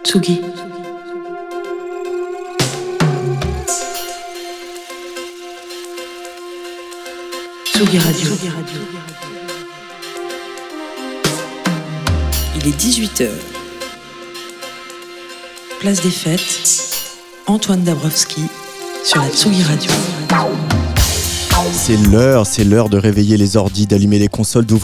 Tsugi. Tsugi Radio. Il est 18h. Place des Fêtes. Antoine Dabrowski sur la Tsugi Radio. C'est l'heure de réveiller les ordis, d'allumer les consoles, d'ouvrir